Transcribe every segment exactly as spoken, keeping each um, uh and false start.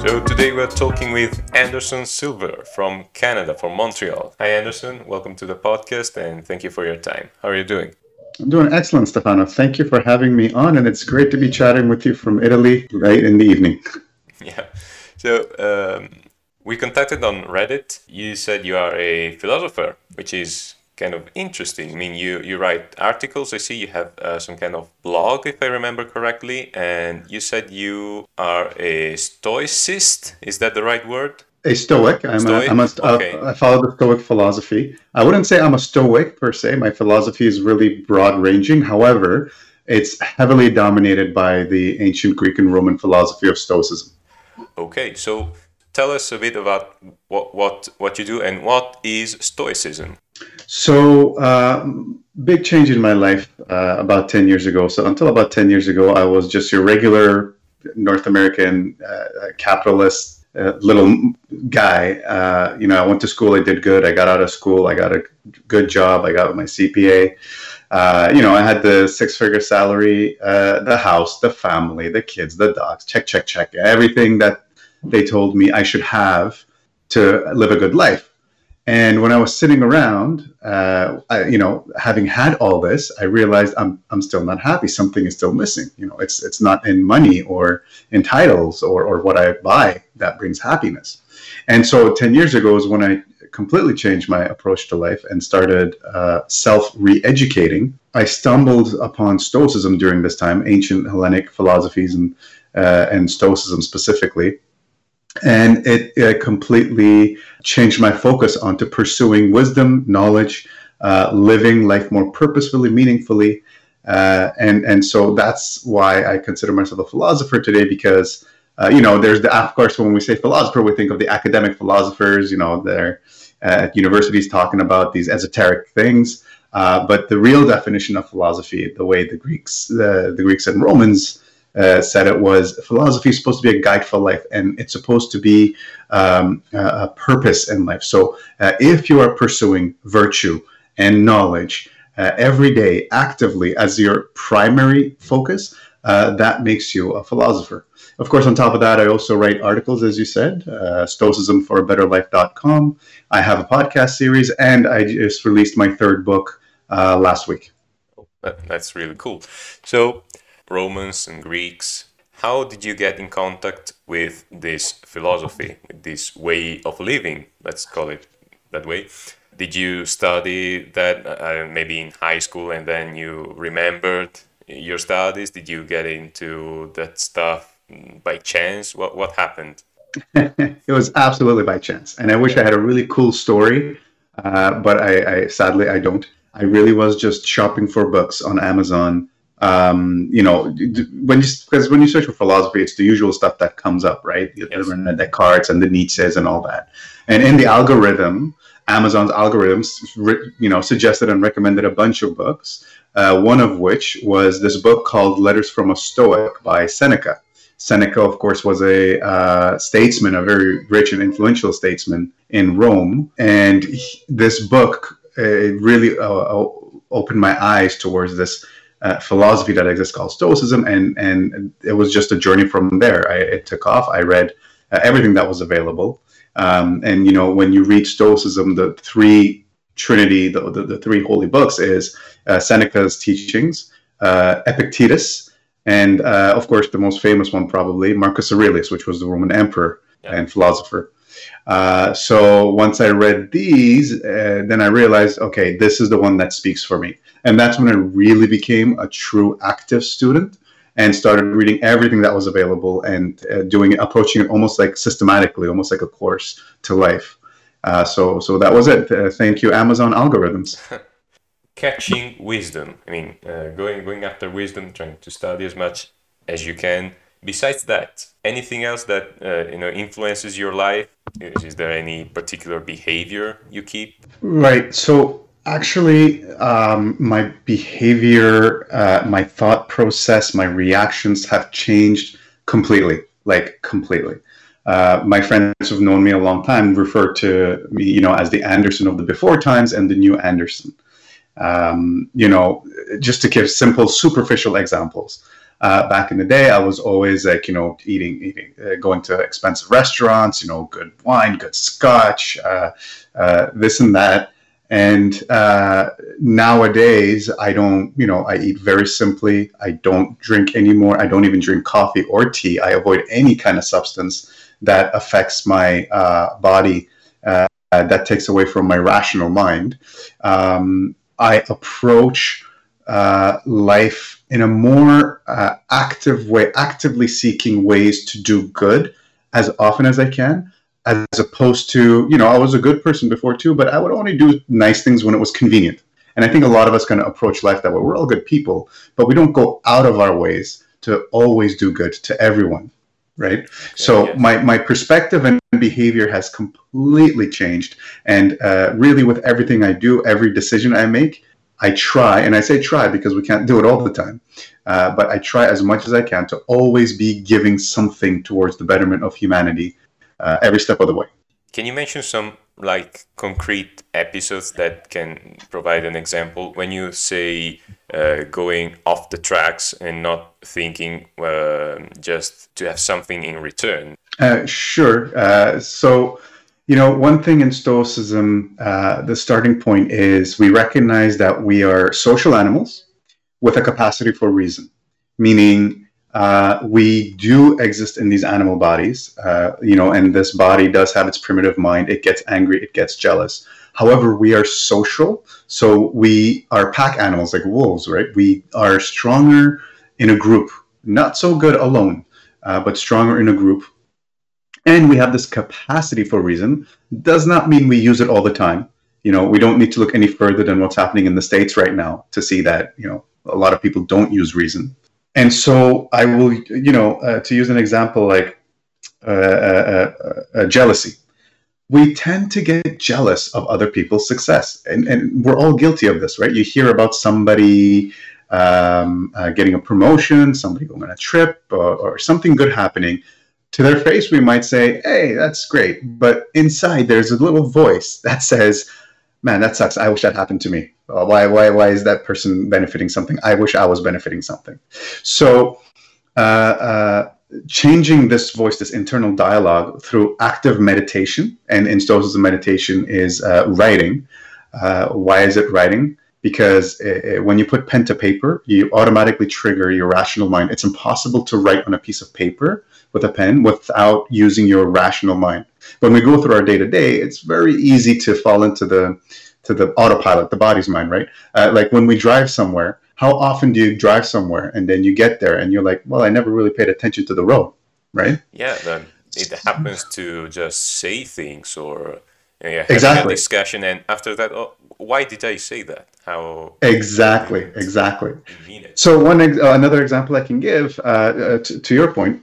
So today we're talking with Anderson Silver from Canada, from Montreal. Hi Anderson, welcome to the podcast and thank you for your time. How are you doing? I'm doing excellent, Stefano. Thank you for having me on, and it's great to be chatting with you from Italy right in the evening. Yeah. So um, we contacted on Reddit. You said you are a philosopher, which is kind of interesting. I mean, you, you write articles. I see you have uh, some kind of blog, if I remember correctly. And you said you are a stoicist. Is that the right word? A Stoic. I'm Stoic? a, I'm a, Okay. uh, I follow the Stoic philosophy. I wouldn't say I'm a Stoic per se. My philosophy is really broad-ranging. However, it's heavily dominated by the ancient Greek and Roman philosophy of Stoicism. Okay, so tell us a bit about what what, what you do and what is Stoicism. So, uh, big change in my life uh, about ten years ago. So, until about ten years ago, I was just your regular North American uh, capitalist uh, little guy. Uh, you know, I went to school, I did good. I got out of school, I got a good job, I got my C P A. Uh, you know, I had the six-figure salary, uh, the house, the family, the kids, the dogs, check, check, check, everything that they told me I should have to live a good life. And when I was sitting around, uh, I, you know, having had all this, I realized I'm I'm still not happy. Something is still missing. You know, it's it's not in money or in titles or or what I buy that brings happiness. And so ten years ago is when I completely changed my approach to life and started uh, self re-educating. I stumbled upon Stoicism during this time, ancient Hellenic philosophies and uh, and Stoicism specifically. And it, it completely changed my focus onto pursuing wisdom, knowledge, uh, living life more purposefully, meaningfully. Uh, and, and so that's why I consider myself a philosopher today, because, uh, you know, there's the, of course, when we say philosopher, we think of the academic philosophers, you know, they're at universities talking about these esoteric things. Uh, but the real definition of philosophy, the way the Greeks, the, the Greeks and Romans Uh, said it was, philosophy is supposed to be a guide for life, and it's supposed to be um, a, a purpose in life. So uh, if you are pursuing virtue and knowledge uh, every day actively as your primary focus, uh, that makes you a philosopher. Of course, on top of that, I also write articles, as you said, uh, stoicism for a better life dot com. I have a podcast series, and I just released my third book uh, last week. That, that's really cool. So Romans and Greeks, how did you get in contact with this philosophy, with this way of living, let's call it that way? Did you study that uh, maybe in high school and then you remembered your studies? Did you get into that stuff by chance? What what happened? It was absolutely by chance. And I wish I had a really cool story, uh, but I, I sadly I don't. I really was just shopping for books on Amazon. Um, you know, when you, because when you search for philosophy, it's the usual stuff that comes up, right? The Yes. René Descartes and the Nietzsche's and all that. And in the algorithm, Amazon's algorithms, you know, suggested and recommended a bunch of books. Uh, one of which was this book called Letters from a Stoic by Seneca. Seneca, of course, was a uh, statesman, a very rich and influential statesman in Rome. And he, this book uh, really uh, opened my eyes towards this Uh, philosophy that exists called Stoicism, and and it was just a journey from there. I, it took off. I read uh, everything that was available, um, and you know, when you read Stoicism, the three trinity, the the, the three holy books is uh, Seneca's teachings, uh, Epictetus, and uh, of course the most famous one probably Marcus Aurelius, which was the Roman emperor Yeah. and philosopher. Uh, so once I read these, uh, then I realized, okay, this is the one that speaks for me. And that's when I really became a true active student and started reading everything that was available and uh, doing it, approaching it almost like systematically, almost like a course to life. Uh, so, so that was it. Uh, thank you, Amazon algorithms. Catching wisdom. I mean, uh, going going after wisdom, trying to study as much as you can. Besides that, anything else that uh, you know influences your life? Is, is there any particular behavior you keep? Right. So actually, um, my behavior, uh, my thought process, my reactions have changed completely, like completely. Uh, my friends who've known me a long time refer to me, you know, as the Anderson of the before times and the new Anderson. Um, you know, just to give simple, superficial examples. Uh, back in the day, I was always like, you know, eating, eating, uh, going to expensive restaurants, you know, good wine, good scotch, uh, uh, this and that. And uh, nowadays, I don't, you know, I eat very simply. I don't drink anymore. I don't even drink coffee or tea. I avoid any kind of substance that affects my uh, body, uh, that takes away from my rational mind. Um, I approach uh, life in a more uh, active way, actively seeking ways to do good as often as I can, as opposed to, you know, I was a good person before too, but I would only do nice things when it was convenient. And I think a lot of us kind of approach life that way. We're all good people, but we don't go out of our ways to always do good to everyone, right? Okay, so yes. my, my perspective and behavior has completely changed. And uh, really with everything I do, every decision I make, I try, and I say try because we can't do it all the time, uh, but I try as much as I can to always be giving something towards the betterment of humanity uh, every step of the way. Can you mention some like concrete episodes that can provide an example when you say uh, going off the tracks and not thinking uh, just to have something in return? Uh, sure. Uh, so, you know, one thing in Stoicism, uh, the starting point is we recognize that we are social animals with a capacity for reason, meaning uh, we do exist in these animal bodies, uh, you know, and this body does have its primitive mind. It gets angry, it gets jealous. However, we are social, so we are pack animals like wolves, right? We are stronger in a group, not so good alone, uh, but stronger in a group. And we have this capacity for reason. Does not mean we use it all the time. You know, we don't need to look any further than what's happening in the States right now to see that, you know, a lot of people don't use reason. And so I will, you know, uh, to use an example like uh, uh, uh, uh, jealousy. We tend to get jealous of other people's success. And, and we're all guilty of this, right? You hear about somebody um, uh, getting a promotion, somebody going on a trip, or, or something good happening. To their face, we might say, hey, that's great. But inside, there's a little voice that says, man, that sucks. I wish that happened to me. Uh, why, why, why is that person benefiting something? I wish I was benefiting something. So uh, uh, changing this voice, this internal dialogue through active meditation, and in Stoicism, meditation is uh, writing. Uh, why is it writing? Because uh, when you put pen to paper, you automatically trigger your rational mind. It's impossible to write on a piece of paper with a pen without using your rational mind. When we go through our day-to-day, it's very easy to fall into the to the autopilot, the body's mind, right? Uh, like when we drive somewhere, how often do you drive somewhere and then you get there and you're like, well, I never really paid attention to the road, right? Yeah, then it happens to just say things or uh, having exactly. a discussion, and after that, oh, why did I say that? How exactly, exactly. So one ex- uh, another example I can give uh, uh, to, to your point.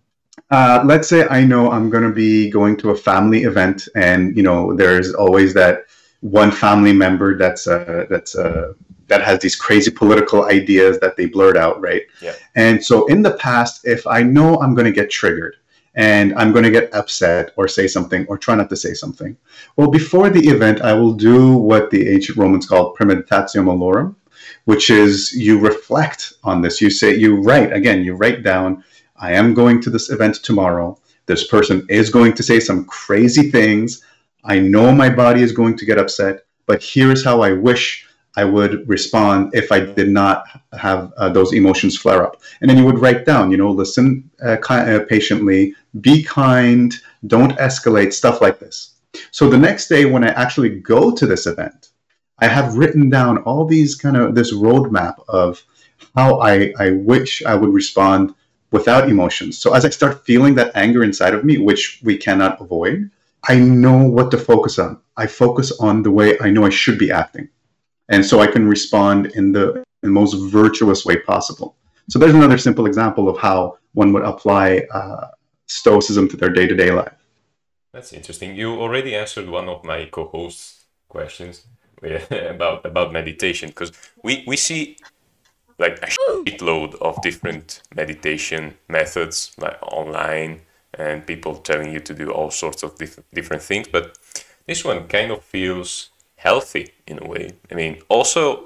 Uh, let's say I know I'm going to be going to a family event, and you know there's always that one family member that's uh, that's uh, that has these crazy political ideas that they blurt out, right? Yeah. And so in the past, if I know I'm going to get triggered and I'm going to get upset or say something or try not to say something, well, before the event, I will do what the ancient Romans called premeditatio malorum, which is you reflect on this. You say, you write again, you write down, I am going to this event tomorrow. This person is going to say some crazy things. I know my body is going to get upset, but here's how I wish I would respond if I did not have uh, those emotions flare up. And then you would write down, you know, listen uh, ki- uh, patiently, be kind, don't escalate, stuff like this. So the next day when I actually go to this event, I have written down all these kind of, this roadmap of how I, I wish I would respond without emotions. So as I start feeling that anger inside of me, which we cannot avoid, I know what to focus on. I focus on the way I know I should be acting. And so I can respond in the, in the most virtuous way possible. So there's another simple example of how one would apply uh, Stoicism to their day-to-day life. That's interesting. You already answered one of my co-hosts' questions about, about meditation, because we, we see like a shitload of different meditation methods like online, and people telling you to do all sorts of diff- different things, but this one kind of feels healthy in a way. I mean, also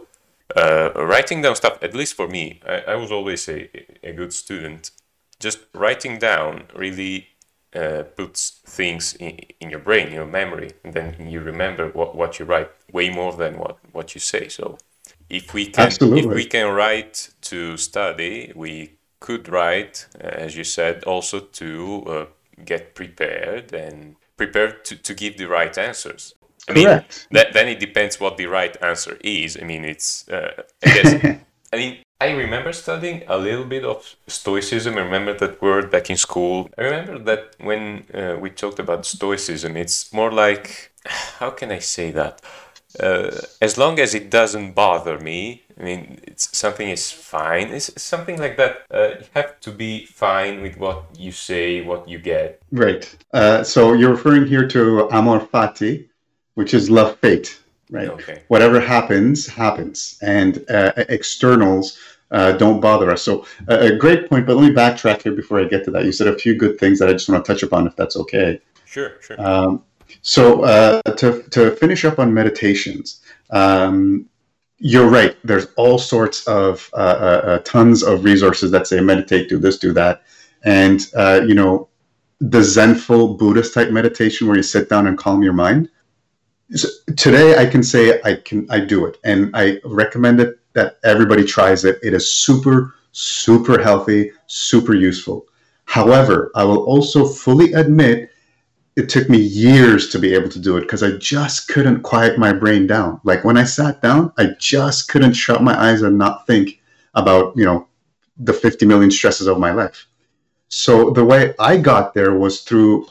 Uh, writing down stuff, at least for me, I, I was always a, a good student. Just writing down really uh, puts things in, in your brain, your memory, and then you remember what, what you write way more than what, what you say. So if we can if we Absolutely. can write to study, we could write, uh, as you said, also to uh, get prepared and prepared to, to give the right answers. I mean, Correct. that, then it depends what the right answer is. I mean, it's, uh, I guess, I mean, I remember studying a little bit of Stoicism. I remember that word back in school. I remember that when uh, we talked about Stoicism, it's more like, how can I say that? Uh, as long as it doesn't bother me, I mean, it's something is fine. It's something like that. Uh, you have to be fine with what you say, what you get. Right. Uh, so you're referring here to amor fati, which is love fate, right? Okay. Whatever happens, happens, and uh, externals uh, don't bother us. So uh, a great point, but let me backtrack here before I get to that. You said a few good things that I just want to touch upon, if that's okay. Sure, sure. Um, so uh, to, to finish up on meditations, um, you're right. There's all sorts of uh, uh, uh, tons of resources that say meditate, do this, do that. And, uh, you know, the Zenful Buddhist type meditation where you sit down and calm your mind. So today I can say I can I do it, and I recommend it that everybody tries it. It is super, super healthy, super useful. However, I will also fully admit it took me years to be able to do it because I just couldn't quiet my brain down. Like when I sat down, I just couldn't shut my eyes and not think about, you know, the fifty million stresses of my life. So the way I got there was through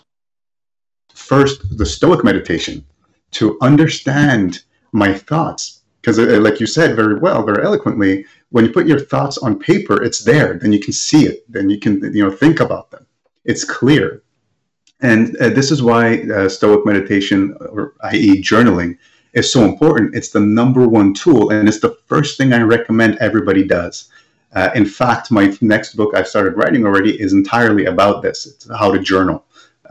first the Stoic meditation, to understand my thoughts. Because like you said very well, very eloquently, when you put your thoughts on paper, it's there. Then you can see it. Then you can, you know, think about them. It's clear. And uh, this is why uh, Stoic meditation, or that is journaling, is so important. It's the number one tool, and it's the first thing I recommend everybody does. Uh, in fact, my next book I've started writing already is entirely about this. It's how to journal.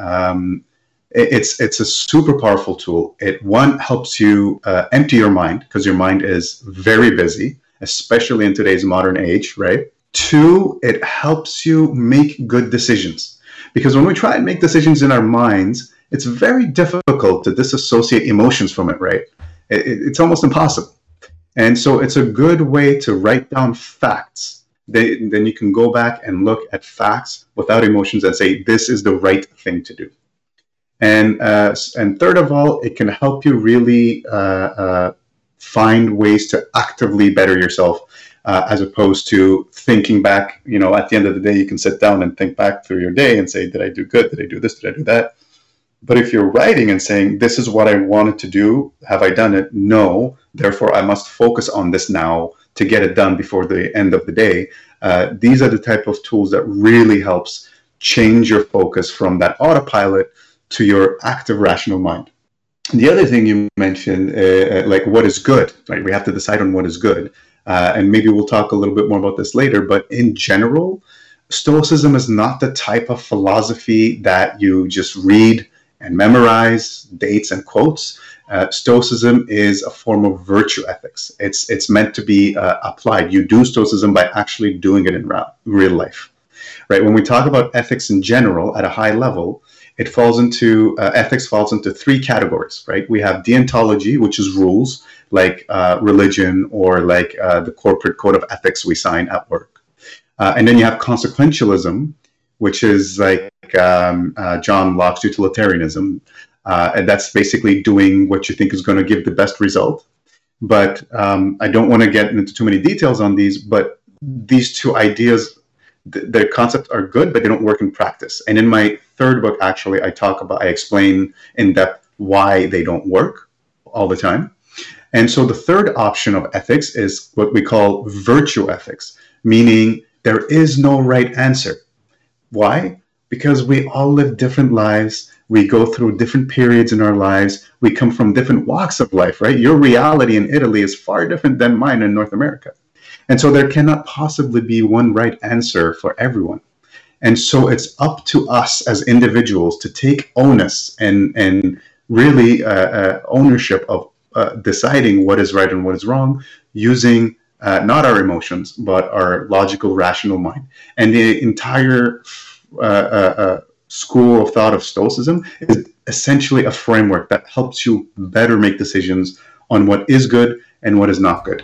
Um, It's it's a super powerful tool. It, one, helps you uh, empty your mind because your mind is very busy, especially in today's modern age, right? Two, it helps you make good decisions. Because when we try and make decisions in our minds, it's very difficult to disassociate emotions from it, right? It, it's almost impossible. And so it's a good way to write down facts. They, then you can go back and look at facts without emotions and say, this is the right thing to do. And uh, and third of all, it can help you really uh, uh, find ways to actively better yourself, uh, as opposed to thinking back. You know, at the end of the day, you can sit down and think back through your day and say, did I do good? Did I do this? Did I do that? But if you're writing and saying, this is what I wanted to do, have I done it? No. Therefore, I must focus on this now to get it done before the end of the day. Uh, these are the type of tools that really helps change your focus from that autopilot to your active rational mind. The other thing you mentioned, uh, like what is good, right? We have to decide on what is good. Uh, and maybe we'll talk a little bit more about this later, but in general, Stoicism is not the type of philosophy that you just read and memorize dates and quotes. Uh, Stoicism is a form of virtue ethics. It's, it's meant to be uh, applied. You do Stoicism by actually doing it in ra- real life, right? When we talk about ethics in general at a high level, it falls into, uh, ethics falls into three categories, right? We have deontology, which is rules, like uh, religion or like uh, the corporate code of ethics we sign at work. Uh, and then you have consequentialism, which is like um, uh, John Locke's utilitarianism. Uh, and that's basically doing what you think is going to give the best result. But um, I don't want to get into too many details on these, but these two ideas, the concepts are good, but they don't work in practice. And in my third book, actually, I talk about, I explain in depth why they don't work all the time. And so the third option of ethics is what we call virtue ethics, meaning there is no right answer. Why? Because we all live different lives. We go through different periods in our lives. We come from different walks of life, right? Your reality in Italy is far different than mine in North America. And so there cannot possibly be one right answer for everyone. And so it's up to us as individuals to take onus and, and really uh, uh, ownership of uh, deciding what is right and what is wrong, using uh, not our emotions, but our logical, rational mind. And the entire uh, uh, uh, school of thought of Stoicism is essentially a framework that helps you better make decisions on what is good and what is not good.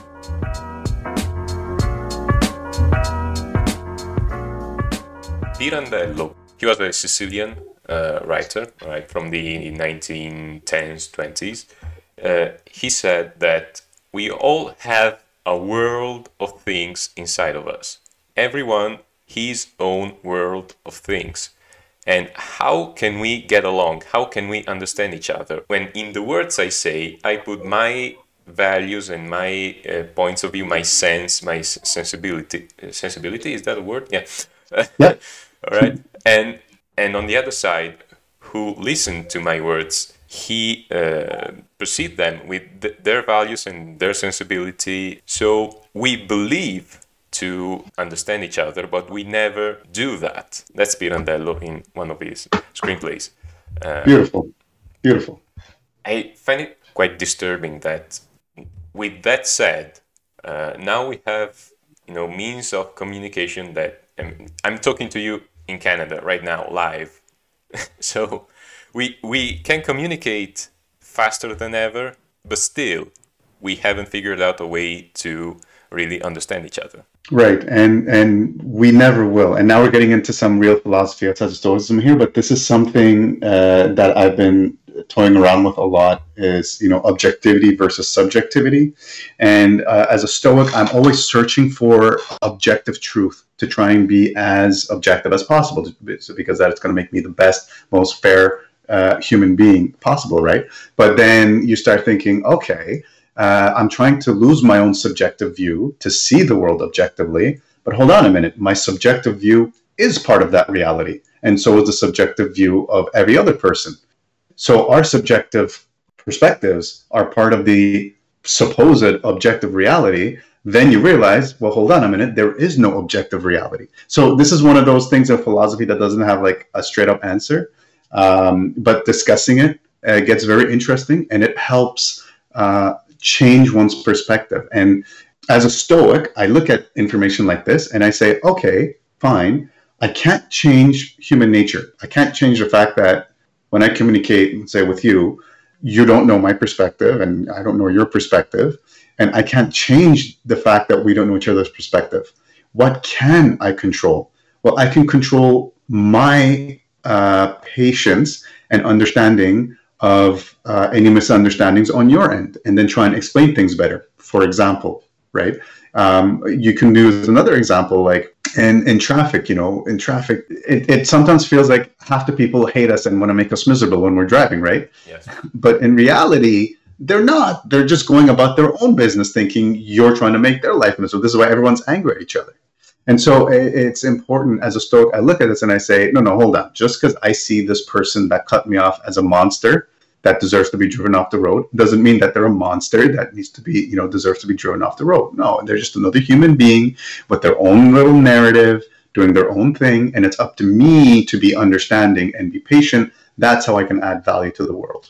Pirandello, he was a Sicilian uh, writer, right, from the nineteen tens, twenties. Uh, he said that we all have a world of things inside of us. Everyone his own world of things. And how can we get along? How can we understand each other? When in the words I say, I put my values and my uh, points of view, my sense, my sensibility. Uh, sensibility, is that a word? Yeah. Yeah. All right. And and on the other side, who listened to my words, he uh, perceived them with th- their values and their sensibility. So we believe to understand each other, but we never do that. That's Pirandello in one of his screenplays. Uh, Beautiful. Beautiful. I find it quite disturbing that, with that said, uh, now we have, you know, means of communication that um, I'm talking to you in Canada right now, live. So we we can communicate faster than ever, but still we haven't figured out a way to really understand each other. Right, and and we never will. And now we're getting into some real philosophy outside of Stoicism here, but this is something uh, that I've been toying around with a lot, is, you know, objectivity versus subjectivity. And uh, as a Stoic, I'm always searching for objective truth to try and be as objective as possible, because that's going to make me the best, most fair uh, human being possible, right? But then you start thinking, okay, Uh, I'm trying to lose my own subjective view to see the world objectively. But hold on a minute, my subjective view is part of that reality. And so is the subjective view of every other person. So our subjective perspectives are part of the supposed objective reality. Then you realize, well, hold on a minute, there is no objective reality. So this is one of those things in philosophy that doesn't have like a straight up answer. Um, but discussing it uh, gets very interesting, and it helps uh, change one's perspective. And as a Stoic, I look at information like this and I say, okay, fine. I can't change human nature. I can't change the fact that when I communicate, say with you, you don't know my perspective and I don't know your perspective. And I can't change the fact that we don't know each other's perspective. What can I control? Well, I can control my uh, patience and understanding of uh, any misunderstandings on your end, and then try and explain things better. For example, right? Um, you can use another example, like in, in traffic, you know, in traffic, it, it sometimes feels like half the people hate us and want to make us miserable when we're driving, right? Yes. But in reality, they're not. They're just going about their own business thinking you're trying to make their life miserable. This is why everyone's angry at each other. And so it's important, as a Stoic, I look at this and I say, no, no, hold on. Just because I see this person that cut me off as a monster that deserves to be driven off the road doesn't mean that they're a monster that needs to be, you know, deserves to be driven off the road. No, they're just another human being with their own little narrative, doing their own thing. And it's up to me to be understanding and be patient. That's how I can add value to the world.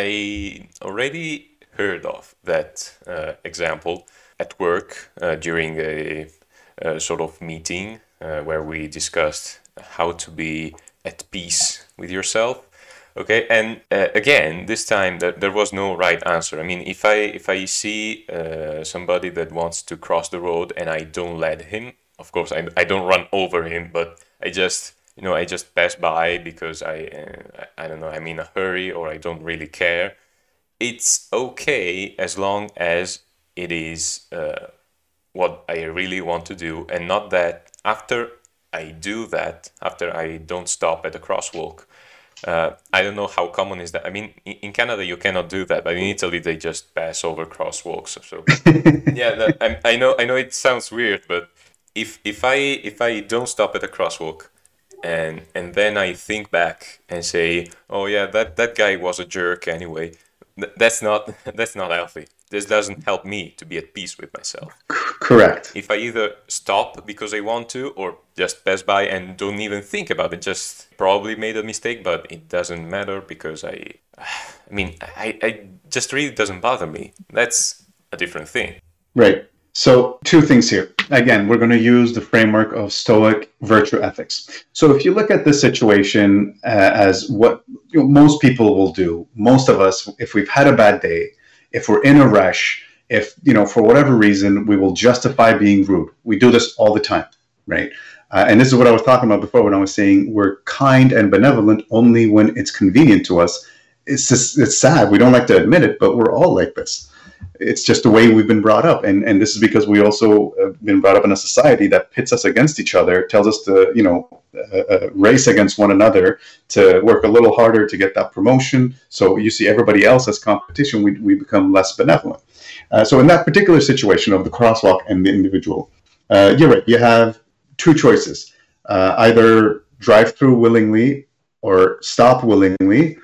I already heard of that uh, example at work uh, during a, a sort of meeting uh, where we discussed how to be at peace with yourself. Okay, and uh, again, this time that there was no right answer. I mean, if I if I see uh, somebody that wants to cross the road and I don't let him, of course I, I don't run over him, but I just you know I just pass by because I uh, I don't know, I'm in a hurry or I don't really care. It's okay as long as it is uh, what I really want to do, and not that after I do that, after I don't stop at the crosswalk. Uh, I don't know how common is that. I mean, in, in Canada you cannot do that, but in Italy they just pass over crosswalks. So yeah, that, I, I know. I know it sounds weird, but if if I if I don't stop at a crosswalk, and and then I think back and say, oh yeah, that, that guy was a jerk anyway. Th- that's not that's not healthy. This doesn't help me to be at peace with myself. Correct. If I either stop because I want to or just pass by and don't even think about it, just probably made a mistake, but it doesn't matter because I, I mean, I, I just really doesn't bother me. That's a different thing. Right. So two things here. Again, we're going to use the framework of Stoic virtue ethics. So if you look at this situation uh, as what you know, most people will do, most of us, if we've had a bad day, if we're in a rush, if, you know, for whatever reason, we will justify being rude. We do this all the time, right? Uh, and this is what I was talking about before when I was saying we're kind and benevolent only when it's convenient to us. It's just, it's sad. We don't like to admit it, but we're all like this. It's just the way we've been brought up. And, and this is because we also have been brought up in a society that pits us against each other, tells us to, you know, uh, uh, race against one another, to work a little harder to get that promotion. So you see everybody else as competition, we, we become less benevolent. Uh, so in that particular situation of the crosswalk and the individual, uh, you're right, you have two choices. Uh, either drive through willingly or stop willingly,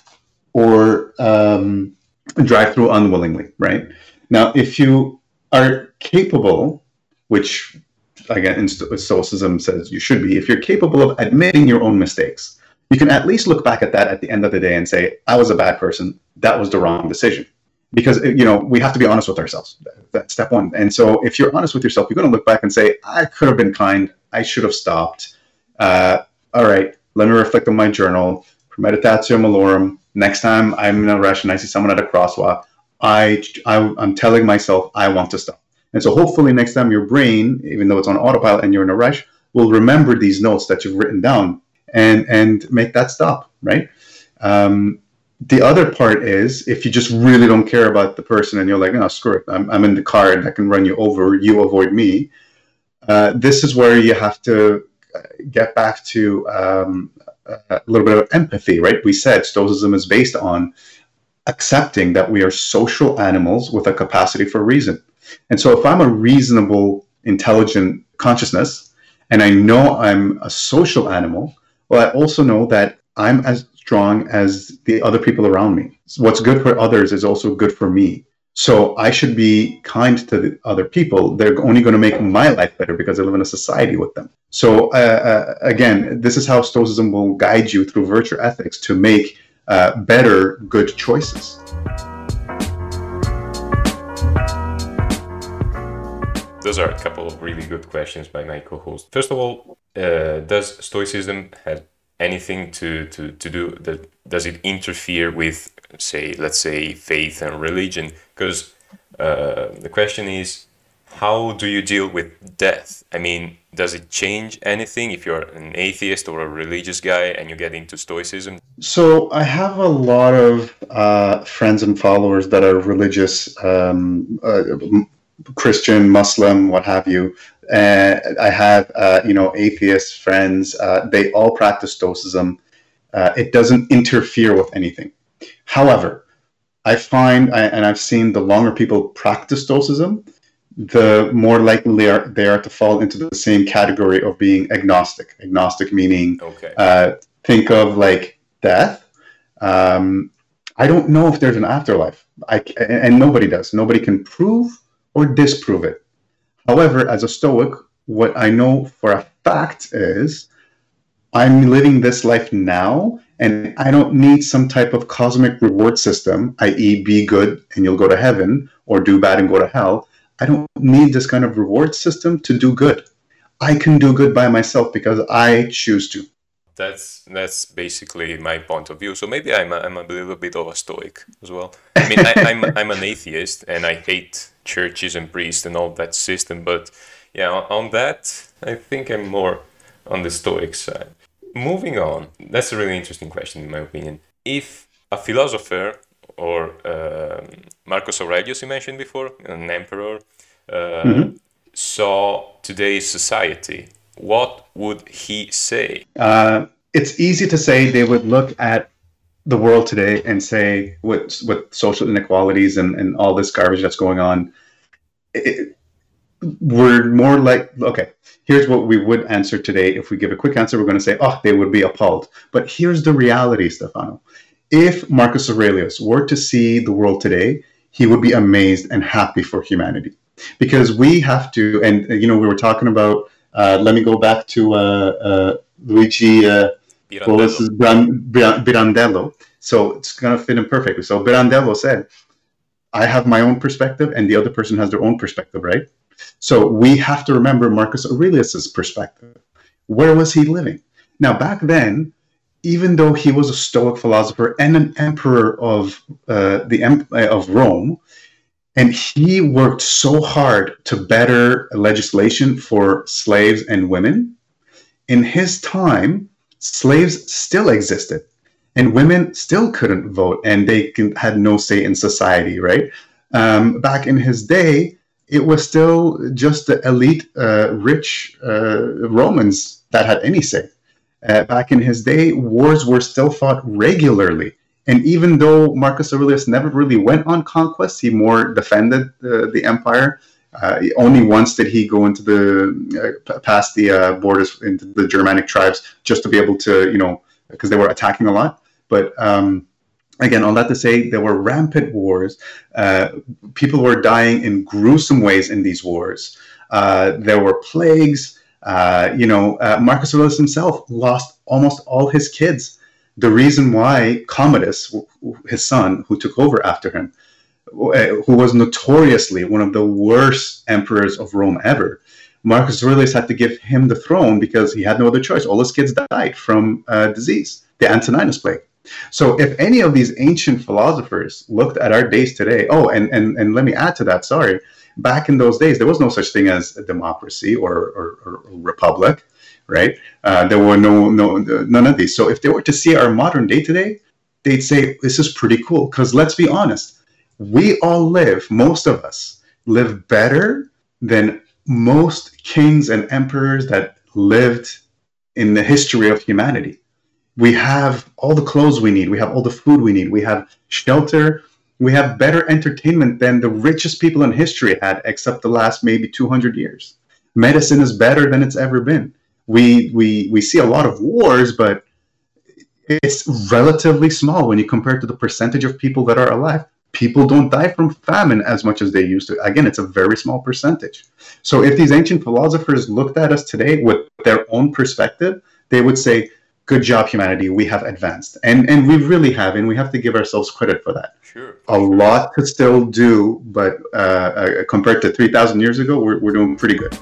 or um, drive through unwillingly, right? Now, if you are capable, which again, in Stoicism says you should be, if you're capable of admitting your own mistakes, you can at least look back at that at the end of the day and say, I was a bad person. That was the wrong decision. Because, you know, we have to be honest with ourselves. That's step one. And so if you're honest with yourself, you're going to look back and say, I could have been kind. I should have stopped. Uh, all right, let me reflect on my journal. Premeditatio malorum. Next time I'm in a rush and I see someone at a crosswalk, I, I, I'm telling myself I want to stop. And so hopefully next time your brain, even though it's on autopilot and you're in a rush, will remember these notes that you've written down and, and make that stop, right? Um, the other part is if you just really don't care about the person and you're like, no, screw it, I'm, I'm in the car and I can run you over, you avoid me. Uh, this is where you have to get back to um, a little bit of empathy, right? We said Stoicism is based on accepting that we are social animals with a capacity for reason. And so if I'm a reasonable, intelligent consciousness, and I know I'm a social animal, well, I also know that I'm as strong as the other people around me. So what's good for others is also good for me. So I should be kind to the other people. They're only going to make my life better because I live in a society with them. So uh, uh, again, this is how Stoicism will guide you through virtue ethics to make uh, better, good choices. Those are a couple of really good questions by my co-host. First of all, uh, does Stoicism have anything to, to, to do, that, does it interfere with, say, let's say, faith and religion? Because uh, the question is, how do you deal with death? I mean, does it change anything if you're an atheist or a religious guy and you get into Stoicism? So I have a lot of uh, friends and followers that are religious, um, uh, Christian, Muslim, what have you. Uh, I have, uh, you know, atheist friends. Uh, they all practice Stoicism. Uh, it doesn't interfere with anything. However, I find, I, and I've seen the longer people practice Stoicism, the more likely they are, they are to fall into the same category of being agnostic. Agnostic meaning, okay. uh, think of like death. Um, I don't know if there's an afterlife. I, and nobody does. Nobody can prove or disprove it. However, as a Stoic, what I know for a fact is I'm living this life now, and I don't need some type of cosmic reward system, that is be good and you'll go to heaven, or do bad and go to hell. I don't need this kind of reward system to do good. I can do good by myself because I choose to. That's that's basically my point of view. So maybe I'm a, I'm a little bit of a Stoic as well. I mean, I, I'm I'm an atheist and I hate churches and priests and all that system. But yeah, on, on that, I think I'm more on the Stoic side. Moving on, that's a really interesting question in my opinion. If a philosopher or um, Marcus Aurelius, you mentioned before, an emperor, uh, mm-hmm. saw today's society, what would he say? Uh, it's easy to say they would look at the world today and say, with, with social inequalities and, and all this garbage that's going on, it, we're more like, okay, here's what we would answer today. If we give a quick answer, we're going to say, oh, they would be appalled. But here's the reality, Stefano. If Marcus Aurelius were to see the world today, he would be amazed and happy for humanity. Because we have to, and, you know, we were talking about, Uh, let me go back to uh, uh, Luigi uh, Pirandello. Pirandello. So it's going to fit in perfectly. So Pirandello said, I have my own perspective and the other person has their own perspective, right? So we have to remember Marcus Aurelius's perspective. Where was he living? Now, back then, even though he was a Stoic philosopher and an emperor of uh, the uh, of Rome, and he worked so hard to better legislation for slaves and women, in his time, slaves still existed and women still couldn't vote and they had no say in society, right? Um, back in his day, it was still just the elite, uh, rich uh, Romans that had any say. Uh, back in his day, wars were still fought regularly. And even though Marcus Aurelius never really went on conquest, he more defended uh, the empire. Uh, only once did he go into the uh, past the uh, borders into the Germanic tribes just to be able to, you know, because they were attacking a lot. But um, again, all that to say, there were rampant wars. Uh, people were dying in gruesome ways in these wars. Uh, there were plagues. Uh, you know, uh, Marcus Aurelius himself lost almost all his kids. The reason why Commodus, his son, who took over after him, who was notoriously one of the worst emperors of Rome ever, Marcus Aurelius had to give him the throne because he had no other choice. All his kids died from uh, disease, the Antoninus plague. So if any of these ancient philosophers looked at our days today, oh, and, and, and let me add to that, sorry, back in those days, there was no such thing as a democracy or, or, or a republic, right? Uh, there were no, no, none of these. So if they were to see our modern day today, they'd say, this is pretty cool. Because let's be honest, we all live, most of us, live better than most kings and emperors that lived in the history of humanity. We have all the clothes we need. We have all the food we need. We have shelter. We have better entertainment than the richest people in history had, except the last maybe two hundred years. Medicine is better than it's ever been. We, we, we see a lot of wars, but it's relatively small when you compare it to the percentage of people that are alive. People don't die from famine as much as they used to. Again, it's a very small percentage. So if these ancient philosophers looked at us today with their own perspective, they would say, good job, humanity, we have advanced. And and we really have, and we have to give ourselves credit for that. Sure. A sure. lot to still do, but uh, uh, compared to three thousand years ago, we're, we're doing pretty good.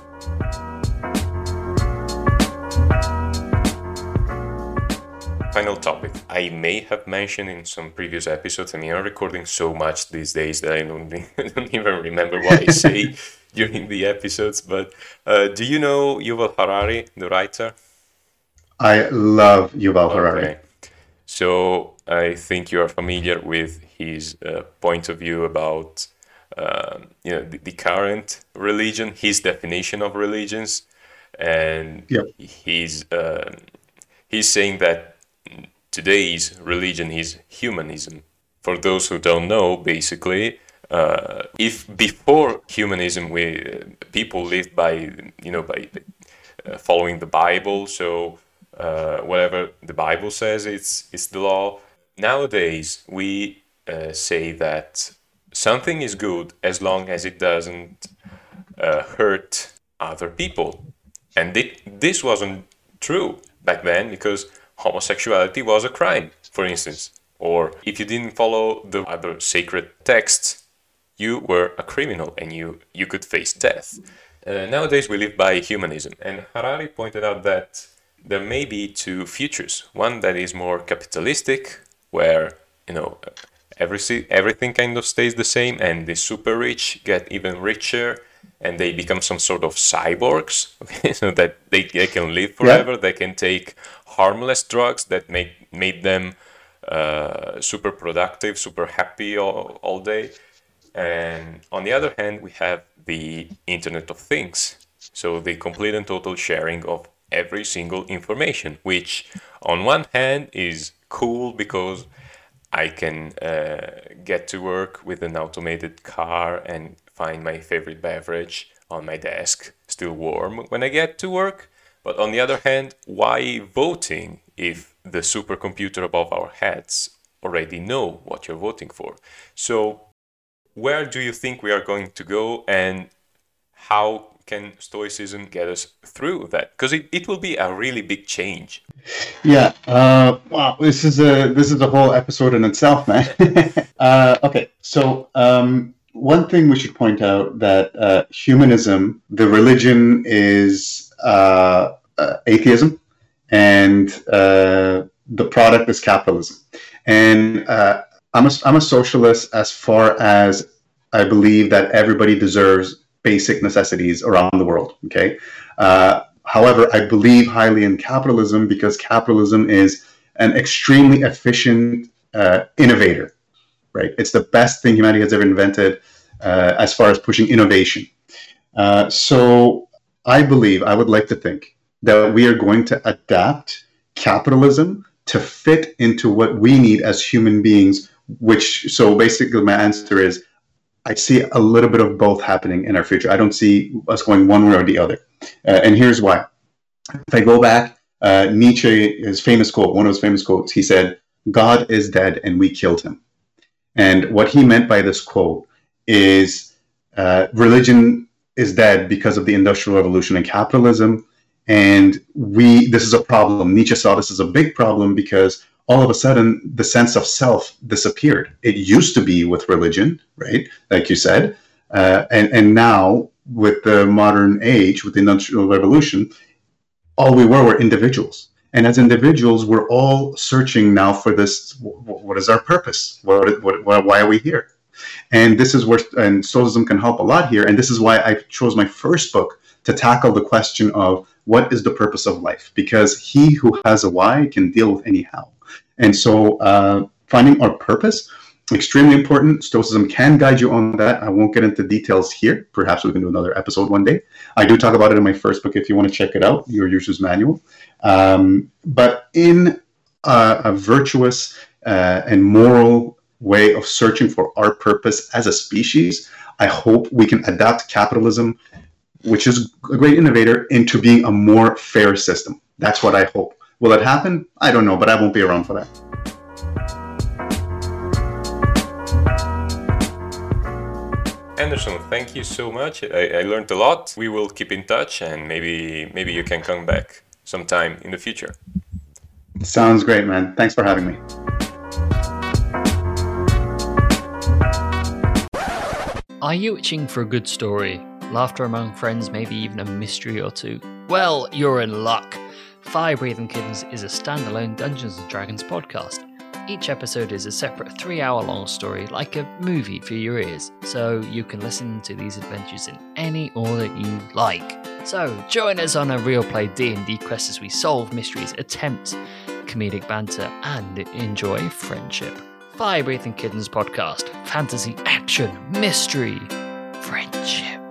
Final topic. I may have mentioned in some previous episodes, I mean, I'm recording so much these days that I don't, I don't even remember what I say during the episodes, but uh, do you know Yuval Harari, the writer? I love Yuval Harari. Okay. So I think you are familiar with his uh, point of view about um, you know the, the current religion, his definition of religions, and yep. he's uh, he's saying that today's religion is humanism. For those who don't know, basically, uh, if before humanism we uh, people lived by you know by uh, following the Bible, so. Uh, whatever the Bible says, it's it's the law. Nowadays, we uh, say that something is good as long as it doesn't uh, hurt other people. And it, this wasn't true back then because homosexuality was a crime, for instance. Or if you didn't follow the other sacred texts, you were a criminal and you, you could face death. Uh, nowadays, we live by humanism. And Harari pointed out that there may be two futures. One that is more capitalistic, where you know every everything kind of stays the same, and the super rich get even richer, and they become some sort of cyborgs, okay? So that they, they can live forever. Yeah. They can take harmless drugs that make made them uh, super productive, super happy all, all day. And on the other hand, we have the Internet of Things, so the complete and total sharing of every single information, which on one hand is cool because I can uh, get to work with an automated car and find my favorite beverage on my desk, still warm when I get to work. But on the other hand, why voting if the supercomputer above our heads already know what you're voting for? So where do you think we are going to go, and how can Stoicism get us through that? Because it, it will be a really big change. Yeah. Uh, wow. This is a this is a whole episode in itself, man. uh, okay. So um, one thing we should point out that uh, humanism, the religion, is uh, uh, atheism, and uh, the product is capitalism. And uh, I'm a I'm a socialist as far as I believe that everybody deserves basic necessities around the world. Okay. Uh, However, I believe highly in capitalism because capitalism is an extremely efficient uh, innovator, right? It's the best thing humanity has ever invented uh, as far as pushing innovation. Uh, so I believe, I would like to think that we are going to adapt capitalism to fit into what we need as human beings, which, so basically my answer is, I see a little bit of both happening in our future. I don't see us going one way or the other. Uh, and here's why. If I go back, uh, Nietzsche, his famous quote, one of his famous quotes, he said, "God is dead and we killed him." And what he meant by this quote is uh, religion is dead because of the Industrial Revolution and capitalism. And we, this is a problem. Nietzsche saw this as a big problem because all of a sudden the sense of self disappeared. It used to be with religion, right? Like you said. Uh, and, and now with the modern age, with the Industrial Revolution, all we were were individuals. And as individuals, we're all searching now for this, what is our purpose? What, what, what, why are we here? And this is where, and Stoicism can help a lot here. And this is why I chose my first book to tackle the question of what is the purpose of life? Because he who has a why can deal with any how. And so uh, finding our purpose, extremely important. Stoicism can guide you on that. I won't get into details here. Perhaps we can do another episode one day. I do talk about it in my first book if you want to check it out, Your User's Manual. Um, but in uh, a virtuous uh, and moral way of searching for our purpose as a species, I hope we can adapt capitalism, which is a great innovator, into being a more fair system. That's what I hope. Will it happen? I don't know, but I won't be around for that. Anderson, thank you so much. I, I learned a lot. We will keep in touch, and maybe maybe you can come back sometime in the future. Sounds great, man. Thanks for having me. Are you itching for a good story? Laughter among friends, maybe even a mystery or two? Well, you're in luck. Fire Breathing Kittens is a standalone Dungeons and Dragons podcast. Each episode is a separate three-hour-long story, like a movie for your ears, so you can listen to these adventures in any order you like. So join us on a real play D and D quest as we solve mysteries, attempt comedic banter, and enjoy friendship. Fire Breathing Kittens podcast, fantasy, action, mystery, friendship.